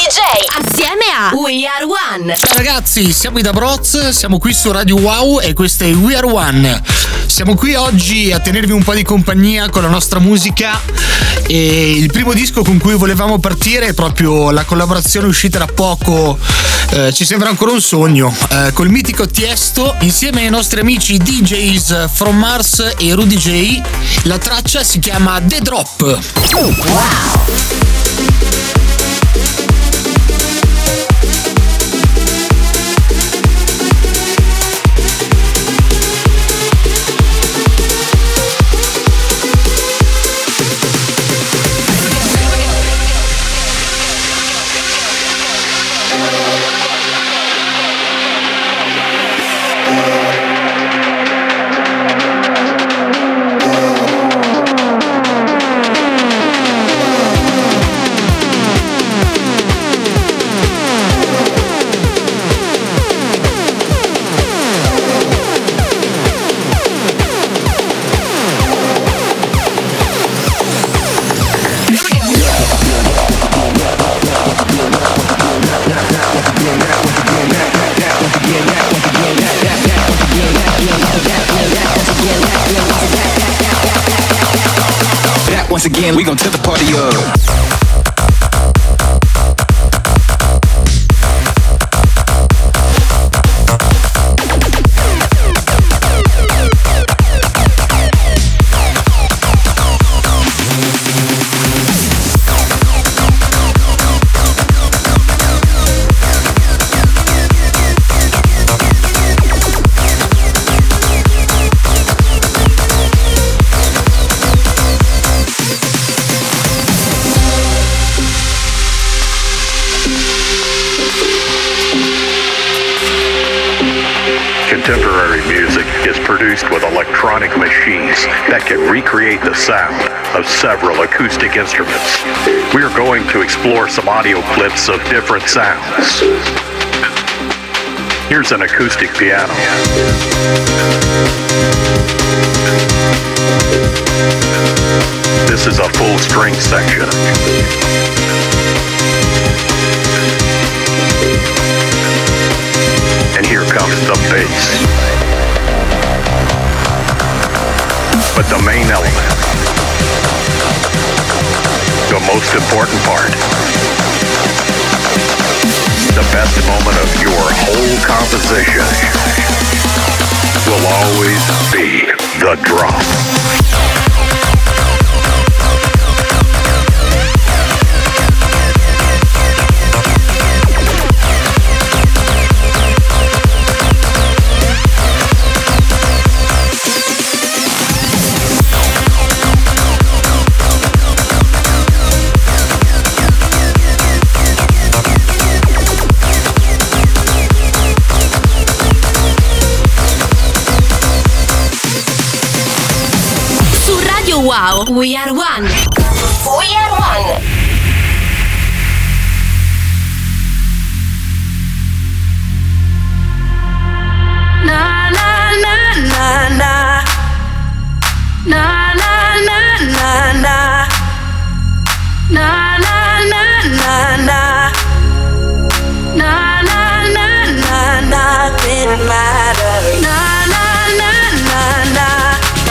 DJ assieme a We Are One. Ciao ragazzi, siamo i Da Broz, siamo qui su Radio Wow e questo è We Are One. Siamo qui oggi a tenervi un po' di compagnia con la nostra musica e il primo disco con cui volevamo partire è proprio la collaborazione uscita da poco, ci sembra ancora un sogno, col mitico Tiesto insieme ai nostri amici DJs From Mars e Rudy J. La traccia si chiama The Drop. Wow. Once again, we gon' tip the party up. Contemporary music is produced with electronic machines that can recreate the sound of several acoustic instruments. We are going to explore some audio clips of different sounds. Here's an acoustic piano. This is a full string section. And here comes the bass. But the main element, the most important part, the best moment of your whole composition will always be the drop. Wow, We Are One. We Are One. Na na na na na. Na na na na na. Na na na na na. Na na na na na. Nothing matters. Na na na na na.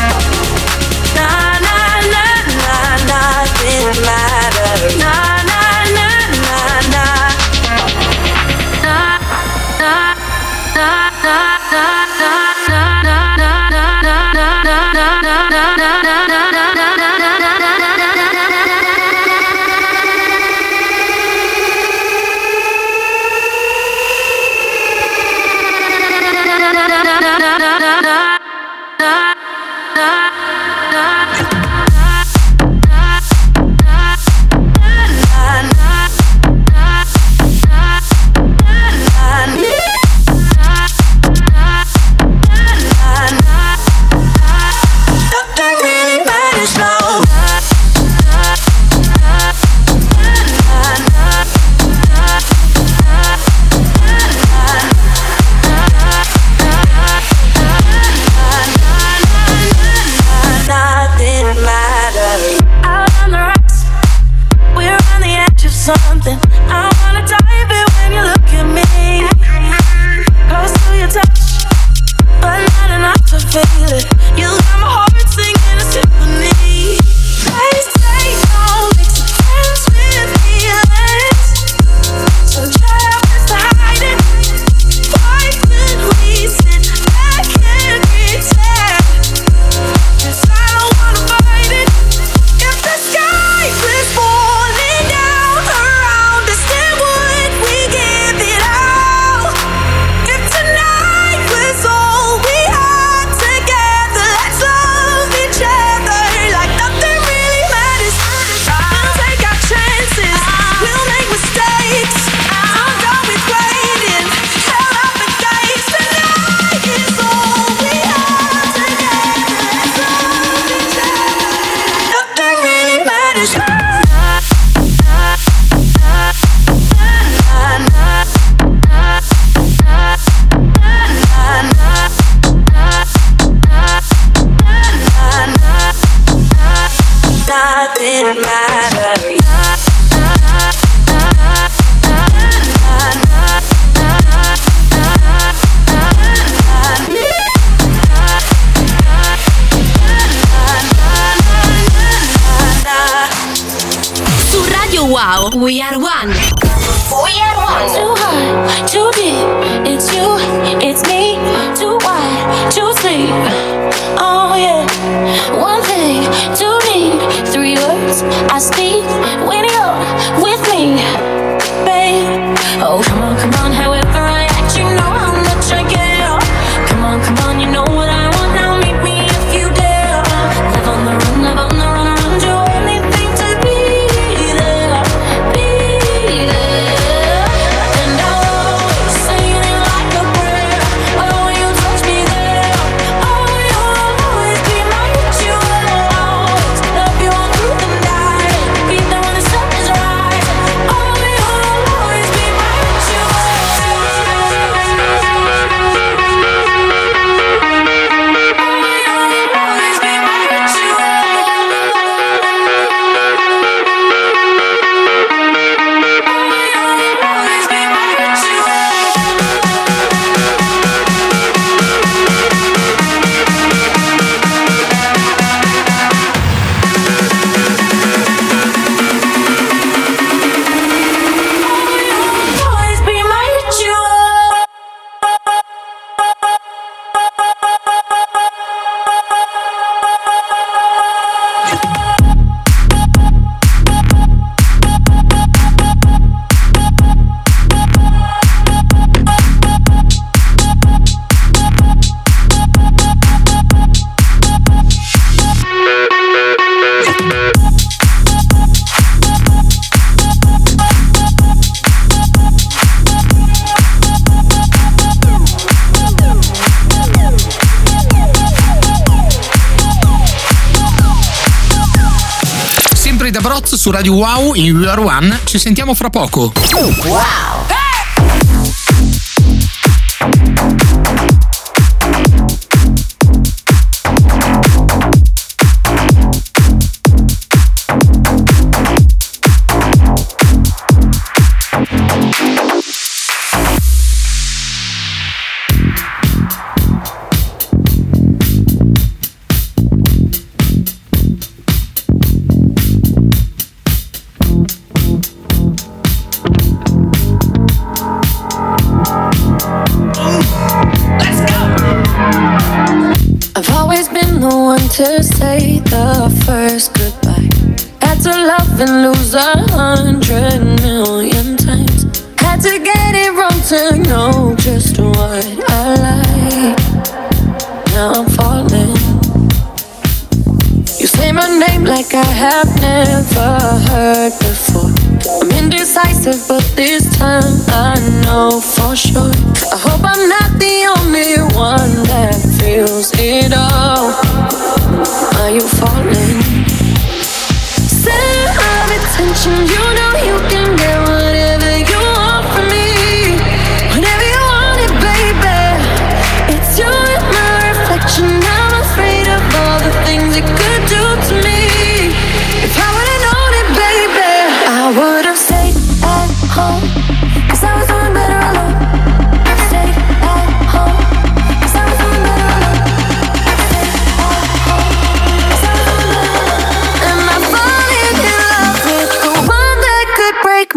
Nothing matters. Na na na na na. Na na na na something. I wanna your touch, but not enough to feel it. You got my heart singing a symphony. They say don't mix your friends with feelings, so try our best to hide it. Why could we sit back and pretend? 'Cause I don't wanna fight it. If the sky was falling down around us, then would we give it all? If tonight was all we had together, let's love each other like nothing really matters. We'll take our chances, we'll make mistakes. I'm done with waiting, held up the gates. Tonight is all we had together, let's love each other. Nothing really matters. Nothing matters. Su Radio Wow, We Are One. We Are One. Too high, too deep. It's you, it's me. Too wide, too sleep. Oh yeah. One thing, two need, three words I speak when you're with me, babe. Oh come on, however I act, you know how much I care. Come on, you know what I want. Now meet me if you dare. Live on the run, run. Do anything to be there, be there. And I'll always say it like a prayer. Oh, you touch me there. Oh, you'll always be my ritual. Always love you all through the night. Be there when the sun is rising. Oh, you'll always be my ritual. Always be my ritual. Sempre da Broz su Radio Wow in We Are One. Ci sentiamo fra poco. I've always been the one to say the first goodbye. Had to love and lose 100,000,000 times. Had to get it wrong to know just what I like. Now I'm falling. You say my name like I have never heard before. I'm indecisive, but this time I know for sure. I hope I'm not the only one that feels it all. Are you falling? Center of attention, you know you can get whatever you want from me. Whenever you want it, baby. It's you and my reflection. I'm afraid of all the things it could do to me. If I would've known it, baby, I would've stayed at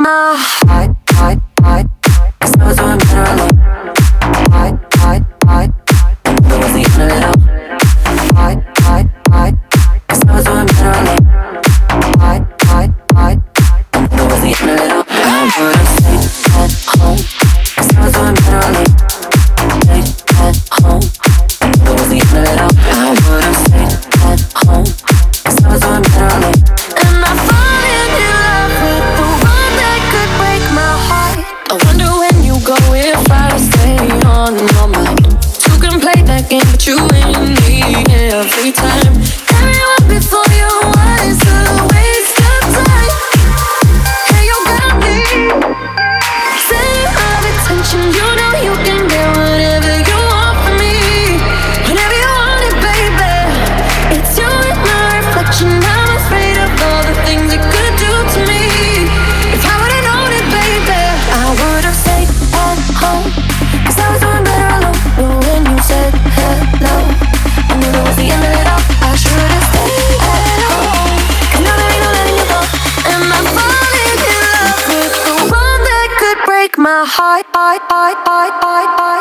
my heart, heart, heart. 'Cause I was doing better alone. Heart, heart, heart. It was the end of it all. Heart, heart, heart. 'Cause I was doing better alone. Heart, heart, heart. It was the end of it all. I would've stayed at home. 'Cause I was doing better alone. Stayed at home. It was the end of it all. I would've stayed at home. 'Cause I was doing better alone. And I fallen in love with the one that could break my heart. I wonder when you go if I stay on your mind. You can play that game, but you ain't me every time. Everyone before you was a waste of time. Hey, you got me. Center of attention, you know you can get whatever you want from me. Whenever you want it, baby. It's you and my reflection. I'm afraid of all the things it could do to me. If I would've known it, baby, I would've stayed at home. 'Cause I was doing better alone. But when you said hello, I knew it was the end of it all. I should've stayed at home. 'Cause now there ain't no letting you go. And I'm falling in love with the one that could break my heart, heart, heart, heart, heart, heart,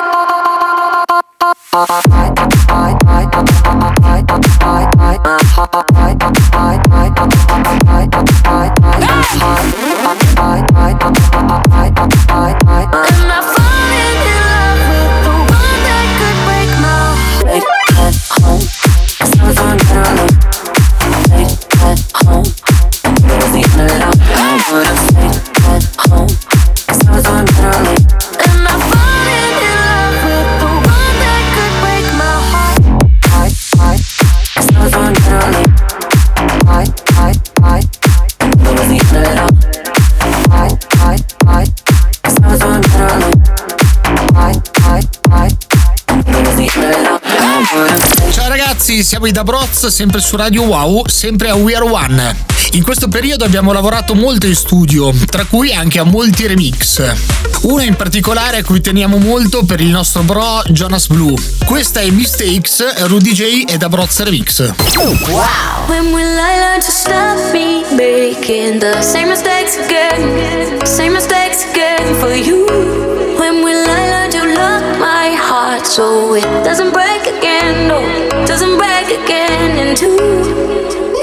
and I'm falling in love with the one that could break my heart. At home, 'cause I was doing better alone. Stayed at home, it was the end of it all. I would've stayed at home, 'cause I was doing better alone. And I'm falling in love with the one that could break my heart. Heart, heart, 'cause I was doing better alone. Heart, heart, heart, it was the end of it all. Heart, heart, heart, 'cause I was doing better alone. Heart, heart, heart, it was the end of it all. I would've stayed. Ciao ragazzi, siamo i Da Broz, sempre su Radio Wow, sempre a We Are One. In questo periodo abbiamo lavorato molto in studio, tra cui anche a molti remix. Uno in particolare a cui teniamo molto per il nostro bro Jonas Blue. Questa è Mistakes, Rudy J e Da Broz Remix. When will I learn to stop me making the same mistakes again? Same mistakes again for you. When will I learn to love my heart so it doesn't break again? No, doesn't break again in two.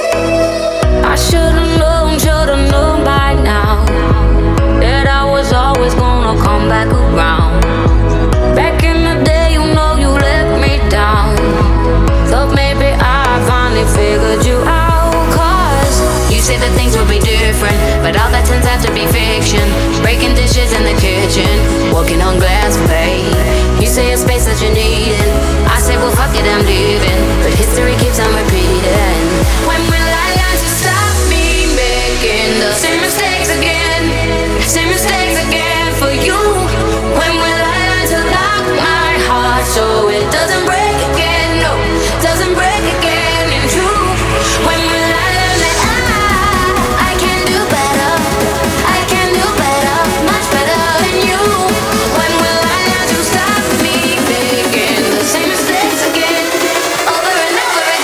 I should've known by now that I was always gonna come back around. Back in the day, you know you let me down. Thought maybe I finally figured you out. 'Cause you said that things would be different, but all that turns out to be fiction. Breaking dishes in the kitchen, walking on glass, babe. You say a space that you need, and I say, well, fuck it, I'm leaving. But history keeps on repeating. When will I learn to stop me making the same mistakes again? Same mistakes again for you. When will I learn to lock my heart so it doesn't break again? No, doesn't break again in two. When will I learn that I can do better? I can do better, much better than you. When will I learn to stop me making the same mistakes again, over and over again?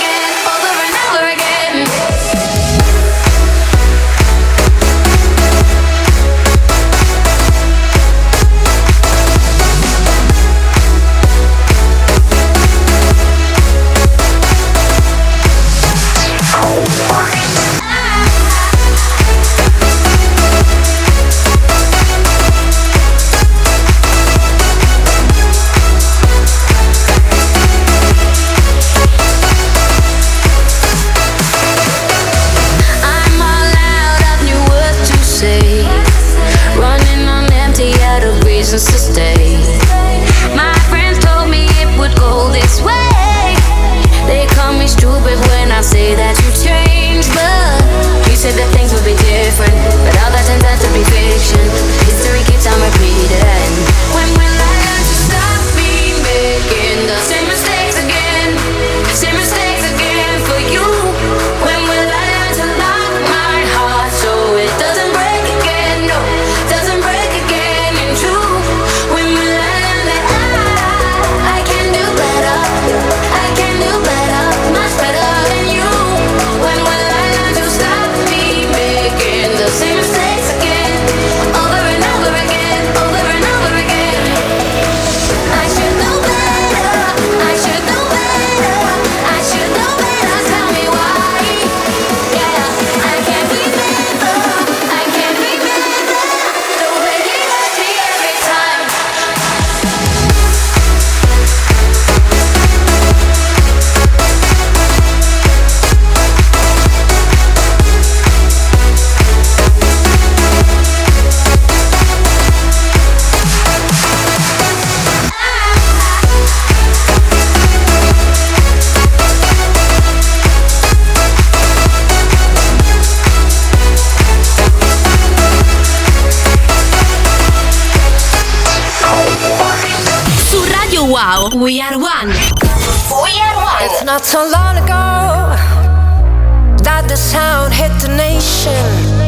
Wow, We Are One. We Are One. It's not so long ago that the sound hit the nation.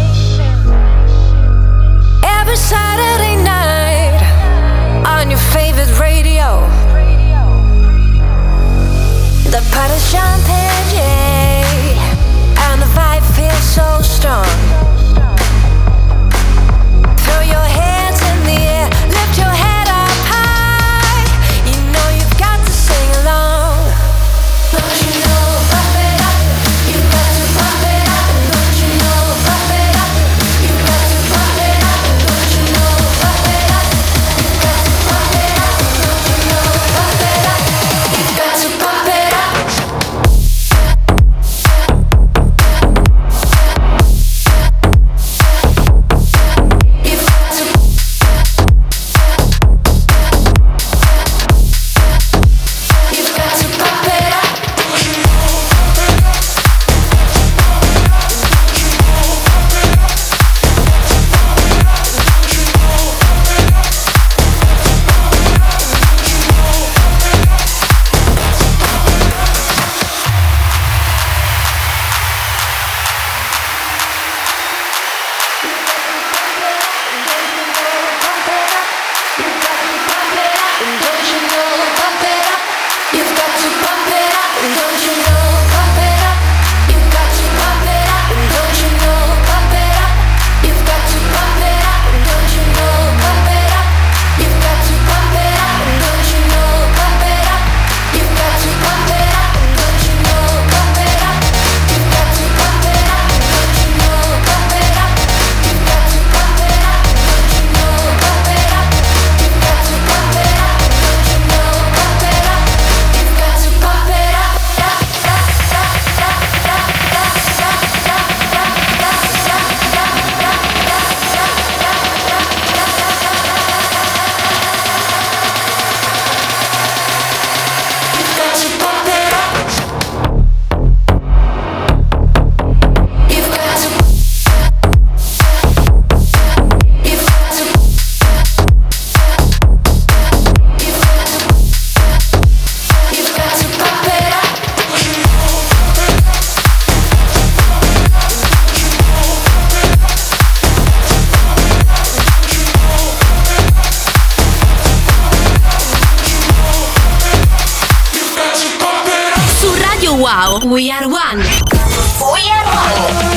Every Saturday night on your favorite radio. The party's jumping, yeah, and the vibe feels so strong. Throw your hands in the air, lift your head up high. You know you've got to sing along. Don't you know, pump it up. You've got to pump it up. Don't you know, pump it up. You've got to pump it up. Don't you know, pump it up. You've got to pump it up. Don't you know, pump it up. You've got to pump it up. Wow, We Are One. We Are One.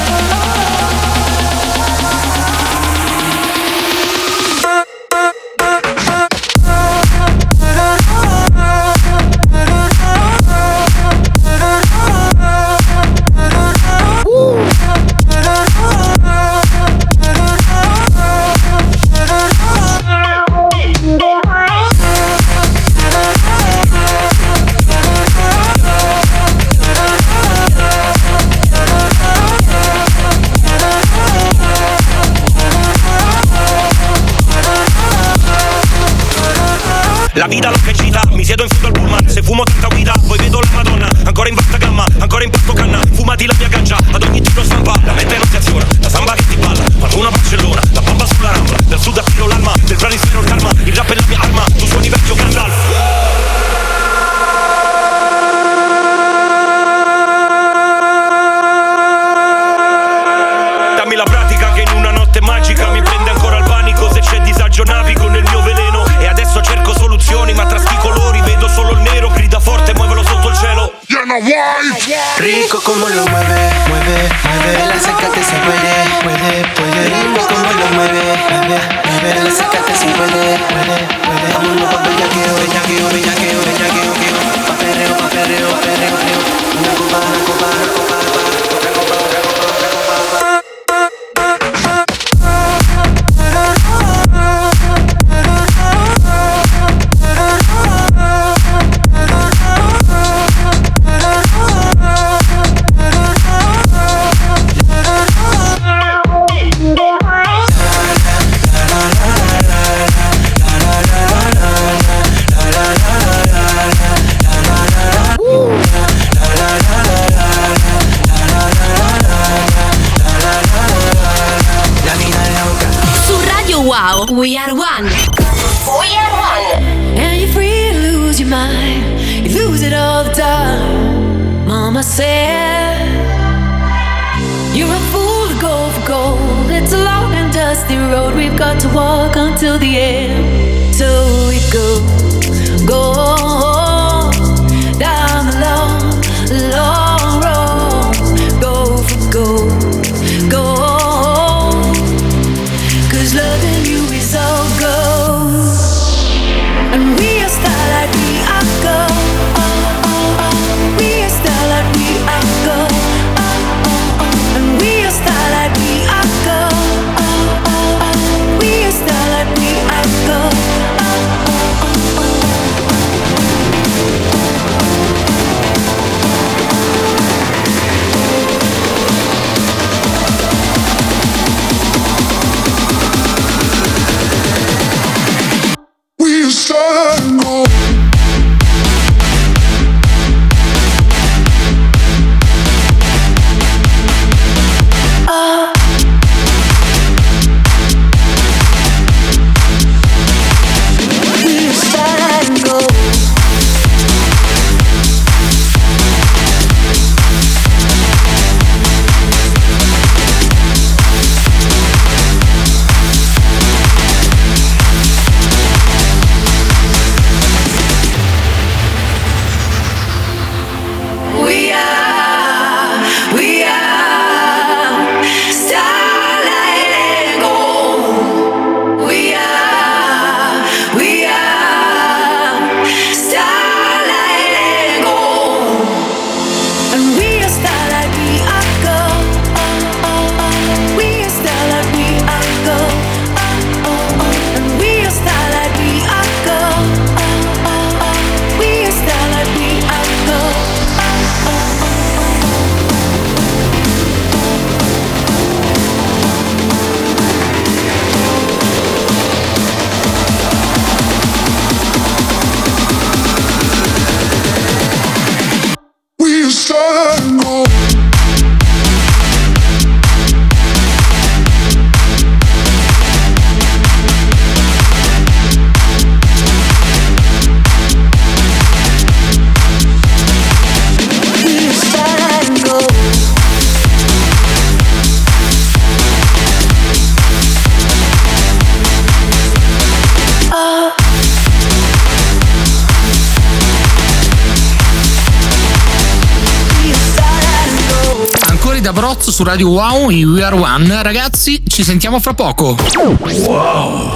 La vita l'ho crescita, mi siedo in fondo al pullman. Se fumo tanta guida, poi vedo la Madonna. Ancora in vasta gamma, ancora in pasto canna. Fumati la mia ganja, ad ogni tiro stampa. La mente non si aziona, la samba che ti balla. Qualcuno a Barcellona, la bomba sulla rambla. Del sud attiro l'alma, del planisfero il karma. Il rap è la mia arma, tu suoni vecchio Gandalf. Dammi la pratica che in una notte magica mi prende ancora il panico. Se c'è disagio navigo nel mio veleno. E adesso cerco soluzioni, ma tra sti colori vedo solo il nero. Grida forte, muovelo sotto il cielo. Rico como lo mueve, mueve, mueve. Acércate si puede, puede, puede. Rico como lo mueve, mueve, mueve. Acércate si puede, puede, puede. Vámonos pa' bellaqueo, bellaqueo, bellaqueo, bellaqueo, bellaqueo. Pa' perreo, pa' perreo, perreo, perreo. Una copa, una copa, una copa, otra copa, otra copa, otra copa. Wow, We Are One. We Are One. And you're free to lose. your mind, you lose it all the time. Mama said, you're a fool to go for gold. It's a long and dusty road we've got to walk until the end. So we go down the long, long road. Go for gold, gold. 'Cause loving you is all gold. And we are starlight, we are gold. We are starlight, we are gold. And we are starlight, we are gold. We are starlight, we are gold. We are starlight, gold. D'Abrozzo su Radio Wow in We Are One. Ragazzi, ci sentiamo fra poco. Wow.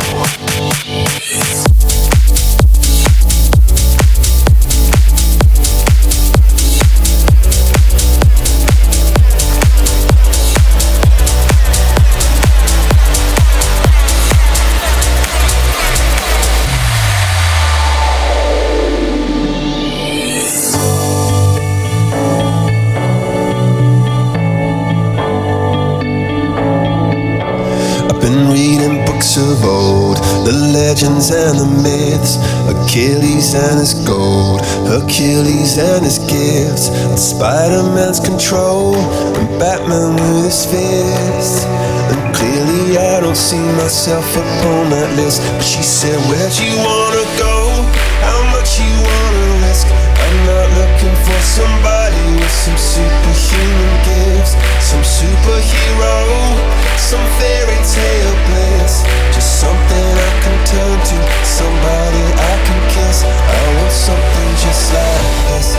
Of old, the legends and the myths, Achilles and his gold, Hercules and his gifts, and Spider-Man's control, and Batman with his fists. And clearly I don't see myself upon that list. But she said, where'd you wanna go? How much you wanna risk? I'm not looking for somebody with some superhuman gifts, some superhero, some fairy tale bliss. Just something I can turn to, somebody I can kiss. I want something just like this.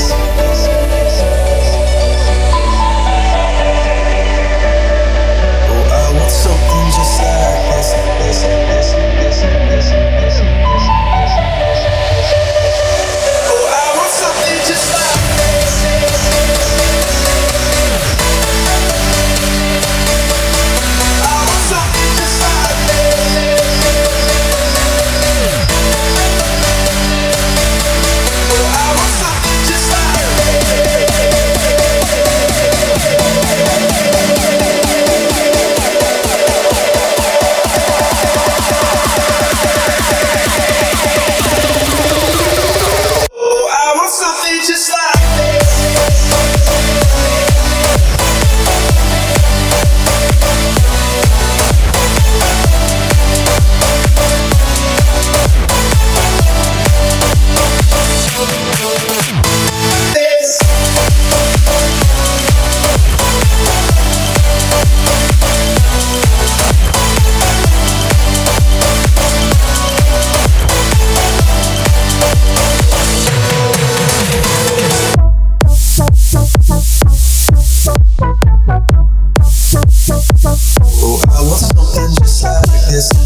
Oh, I want something just like this. Oh, I want something just like this. I want something.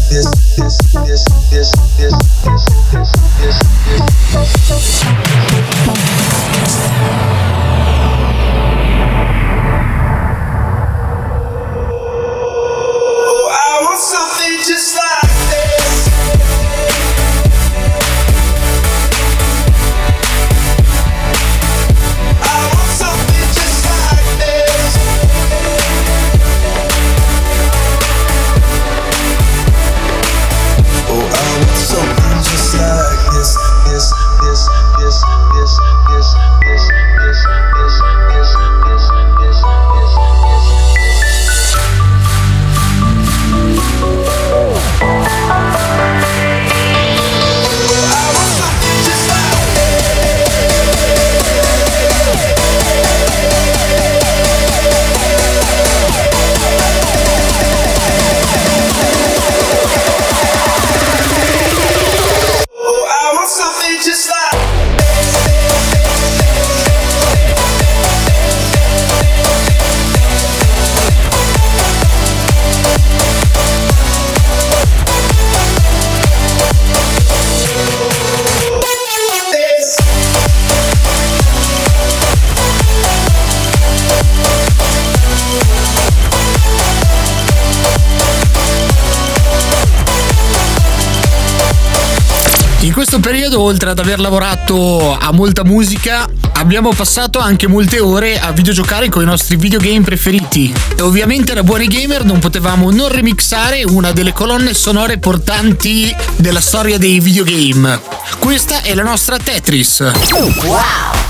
In questo periodo, oltre ad aver lavorato a molta musica, abbiamo passato anche molte ore a videgiocare con i nostri videogame preferiti. E ovviamente da buoni gamer non potevamo non remixare una delle colonne sonore portanti della storia dei videogame. Questa è la nostra Tetris. Wow!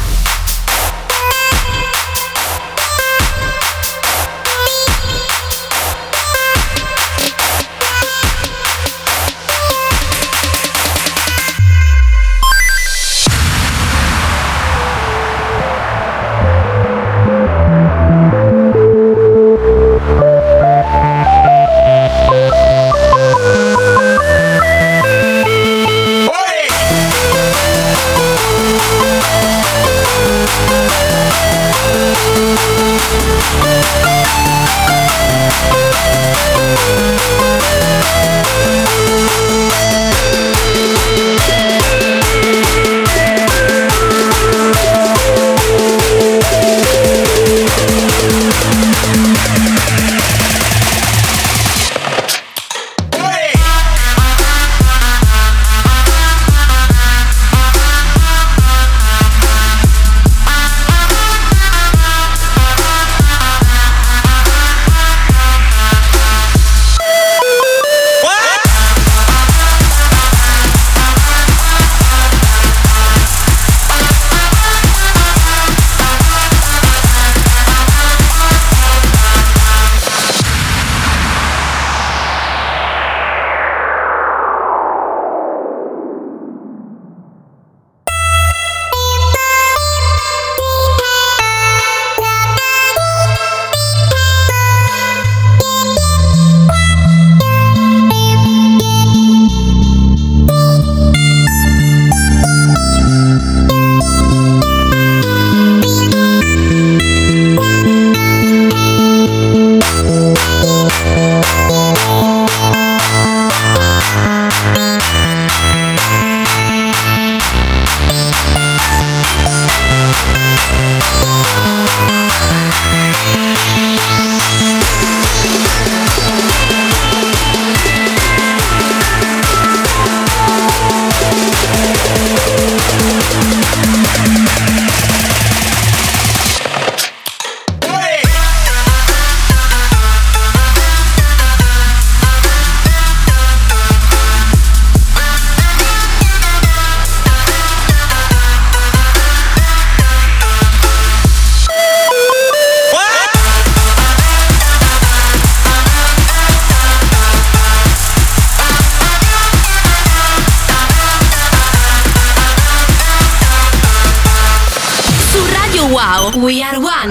Wow, we are one.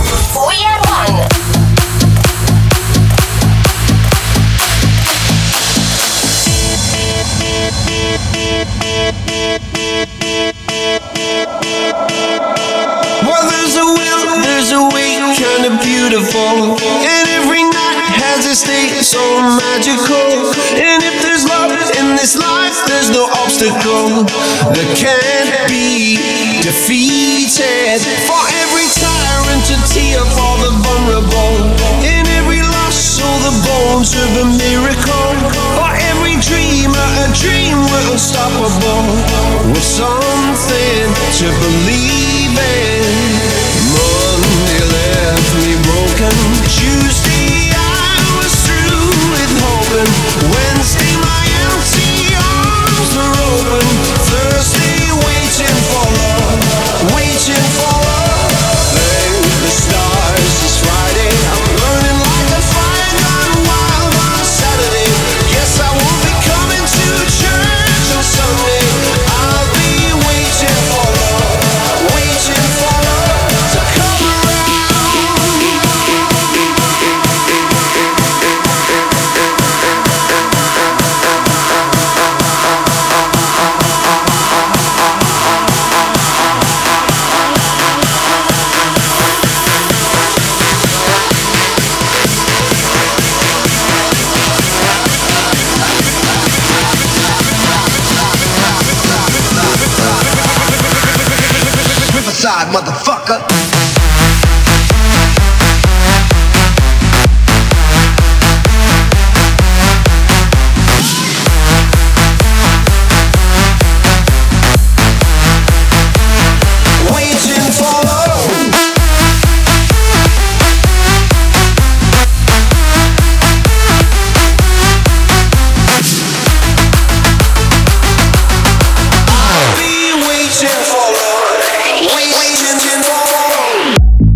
We are one. Well, there's a will, there's a way, kinda beautiful. And every night has a state so magical. And if there's love in this life, there's no obstacle that can't be defeated. For every tyrant a tear for the vulnerable. In every loss all the bones of a miracle. For every dreamer a dream we're unstoppable. With something to believe in. Monday left me broken. Tuesday I was through with hoping. Wednesday my empty arms were open. Thursday waiting for love, waiting for love. Thank the stars it's Friday. I'm burning like a fire gone wild on Saturday. Yes, I won't be coming to church on Sunday. I'll be waiting for love, waiting for love to come around. Riverside, motherfucker. Waiting for love. I'll be waiting for love, waiting for love.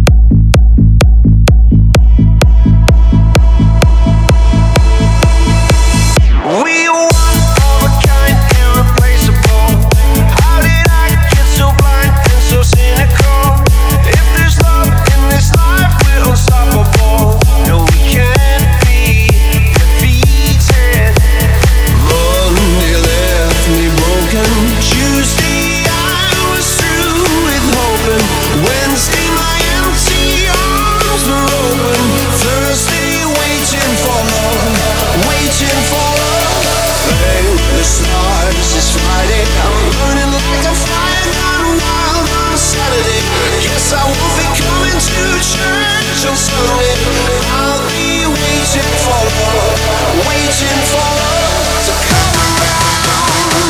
We one of a kind, irreplaceable. How did I get so blind and so cynical? If there's love in this life, we're unstoppable. No, we can't be defeated. Monday left me broken. Tuesday I was through with hoping. Wednesday my empty arms were open. Thursday waiting for love, waiting for love. Thank the stars it's Friday. I'm burning like a fire gone wild on Saturday. Yes, I won't be coming to church on Sunday. I'll be waiting for love, waiting for love to come around.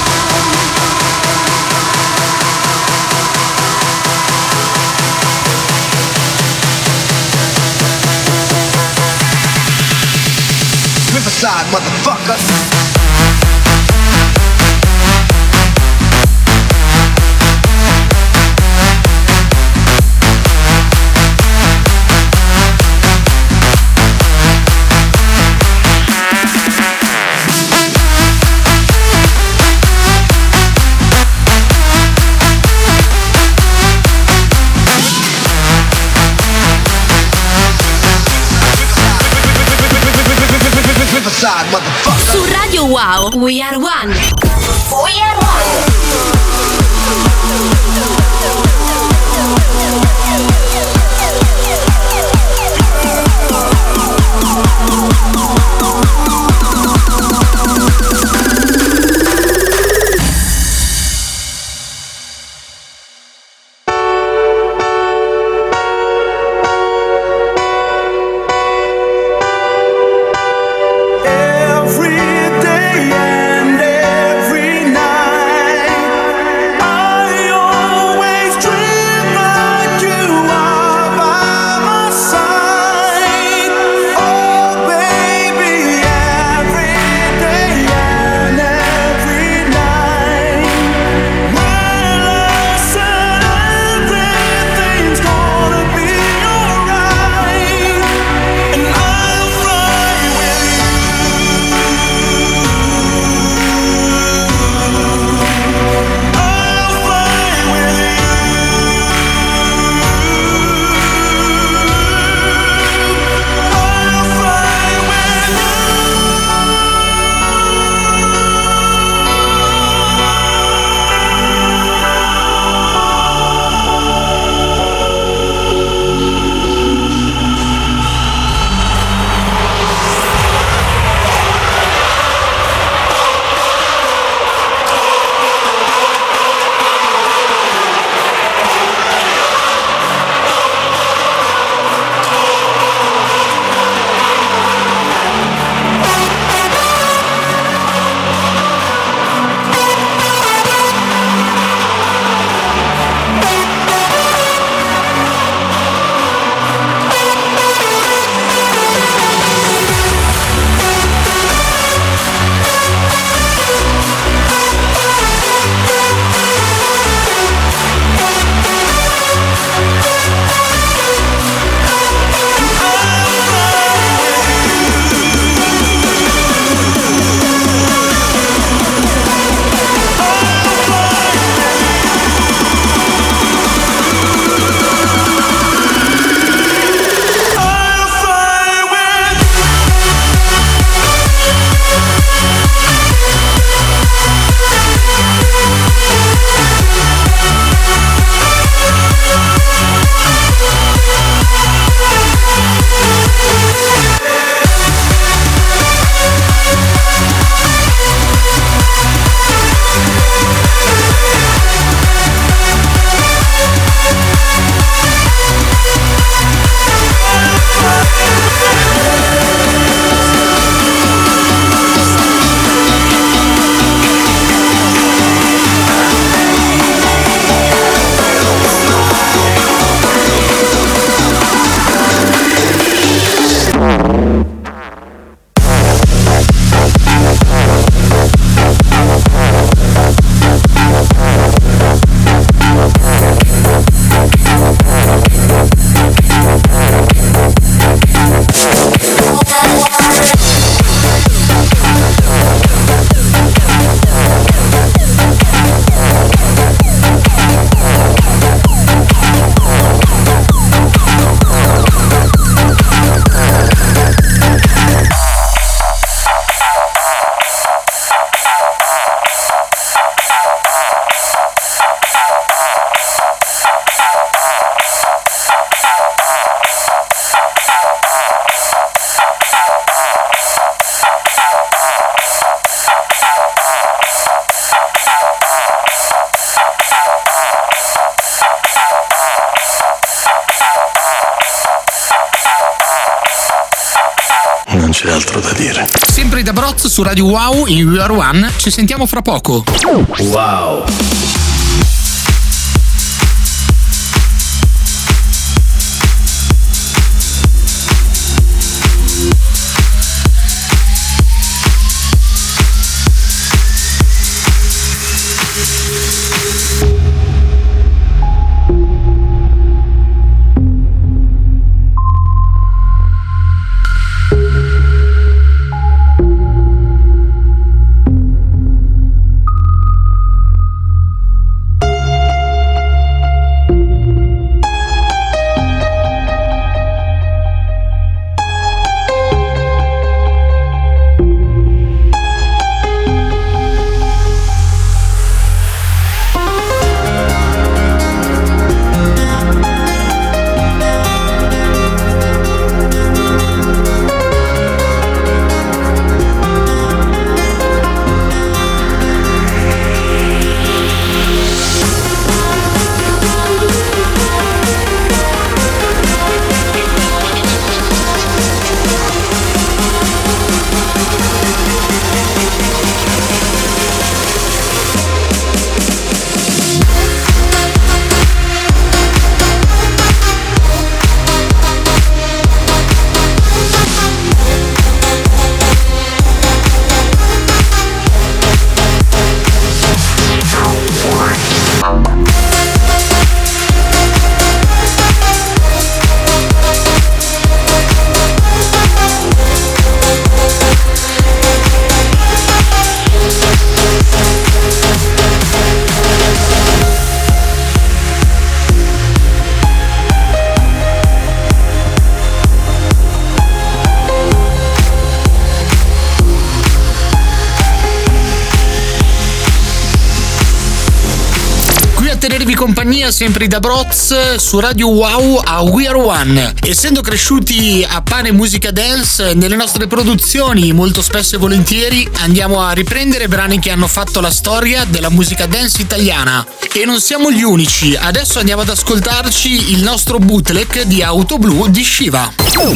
Riverside, motherfucker. Riverside, motherfucker. Su Radio Wow, We Are One. We Are One. Every day and every night, I always dream. altro da dire. Sempre da Broz su Radio Wow in We Are One, ci sentiamo fra poco. Wow. tenervi compagnia sempre da Broz su Radio Wow a We Are One. Essendo cresciuti a pane musica dance, nelle nostre produzioni molto spesso e volentieri andiamo a riprendere brani che hanno fatto la storia della musica dance italiana. E non siamo gli unici, adesso andiamo ad ascoltarci il nostro bootleg di Auto Blu di Shiva.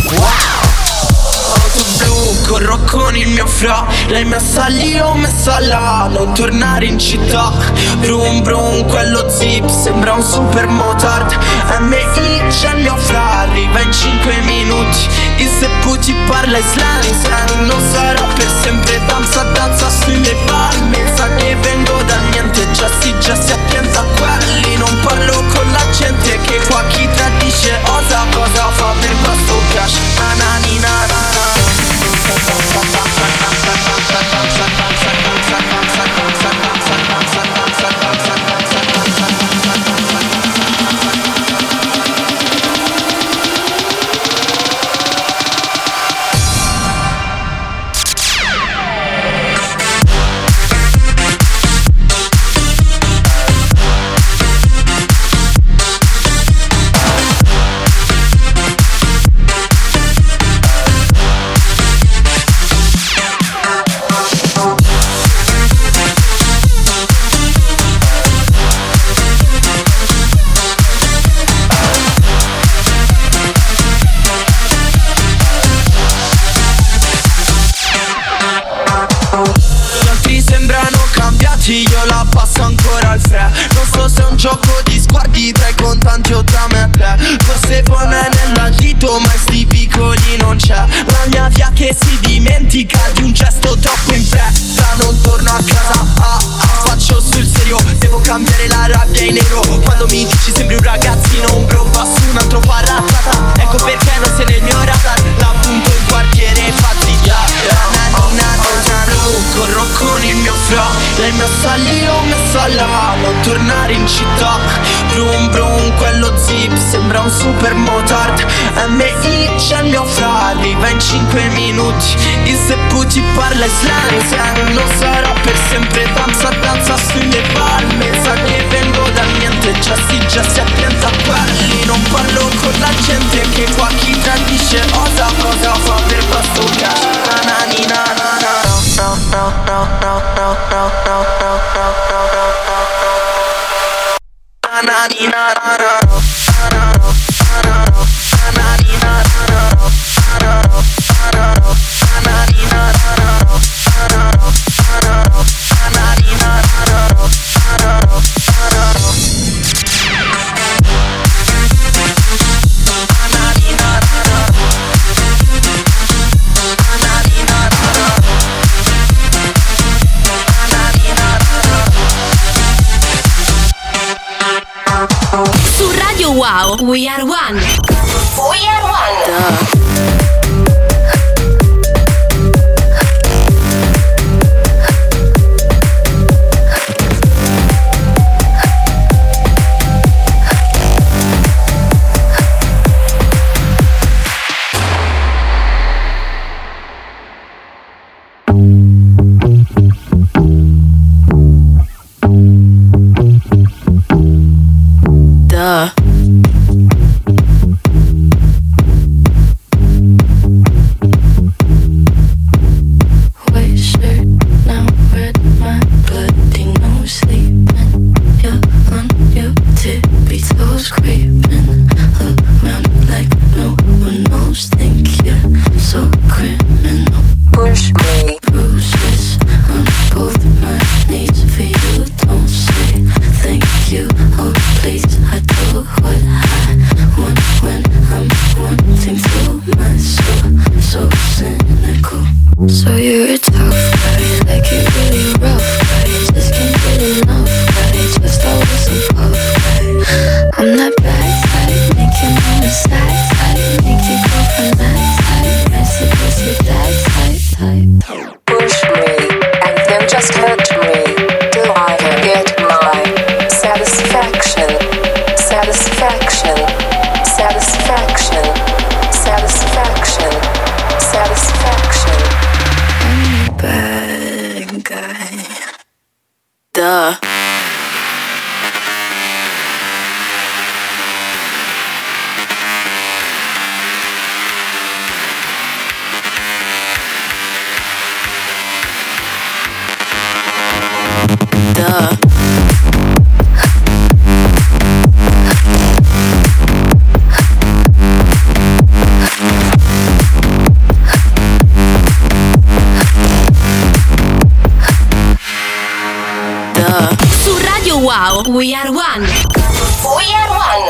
Auto blu, corro con il mio fra. L'hai messa lì, ho messa là. Non tornare in città. Brum brum, quello zip sembra un super motard. MI c'è il mio fra. Arriva in 5 minuti. Il seppu ti parla islam. Non sarà per sempre danza, danza sui miei palmi. Sa che vengo da niente, già si attenza a quelli. Non parlo con la gente che qua chi tradisce osa. Cosa fa per questo cash? Nananina. Io la passo ancora al fre. Non so se è un gioco di sguardi tra i contanti o tra me e te. Forse poi me nella dito ma sti piccoli non c'è. La mia via che si dimentica di un gesto troppo in fretta. Non torno a casa, faccio sul serio. Devo cambiare la rabbia in nero. Quando mi dici sembri un ragazzino, un bro va su un altro parata. Ecco perché non sei nel mio radar. La punto in quartiere, infatti corro con il mio fra. L'hai messa lì, ho messa là. Non tornare in città. Brum brum, quello zip sembra un super motard. MI c'è il mio fra. Arriva in 5 minuti. Il seppu ti parla islam. Non sarà per sempre danza, danza sui miei palme. Sa che vengo da niente, già si attenza a quelli. Non parlo con la gente che qua chi tradisce osa. Cosa fa per questo cash? Nananina. Wow, We Are One. We Are One. Su Radio Wow, We Are One. We Are One.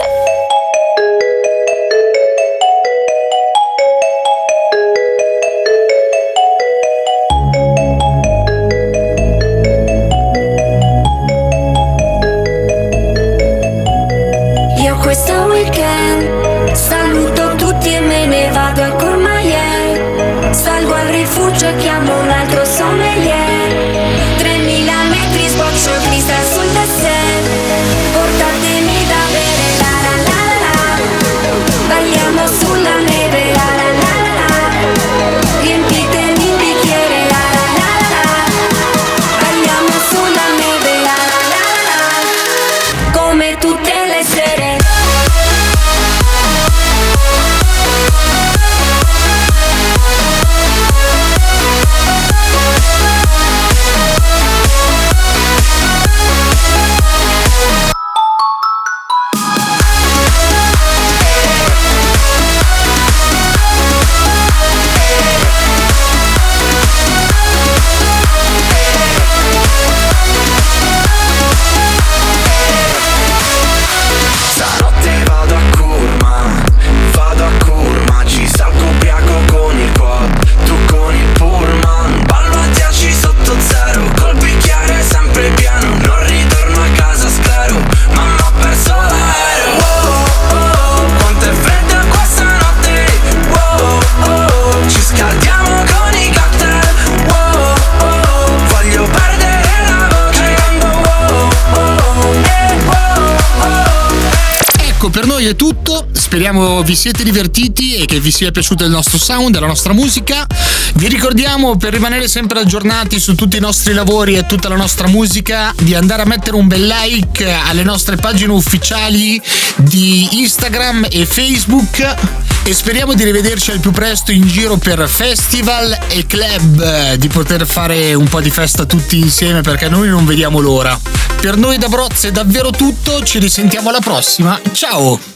Io questo weekend saluto tutti e me ne vado al Courmayeur. Salgo al rifugio e chiamo un altro sommelier. 3000 metri sboccio cristal sul dessert. Portatemi da bere, la la la la la. Balliamo sulla neve, la la la la la. Riempitemi il bicchiere, la la la la la. Balliamo sulla neve, la la la la la. Come tutte le sere. Per noi è tutto, speriamo vi siete divertiti e che vi sia piaciuto il nostro sound e la nostra musica. Vi ricordiamo, per rimanere sempre aggiornati su tutti i nostri lavori e tutta la nostra musica, di andare a mettere un bel like alle nostre pagine ufficiali di Instagram e Facebook e speriamo di rivederci al più presto in giro per festival e club, di poter fare un po' di festa tutti insieme, perché noi non vediamo l'ora. Per noi da Broz è davvero tutto, ci risentiamo alla prossima, ciao!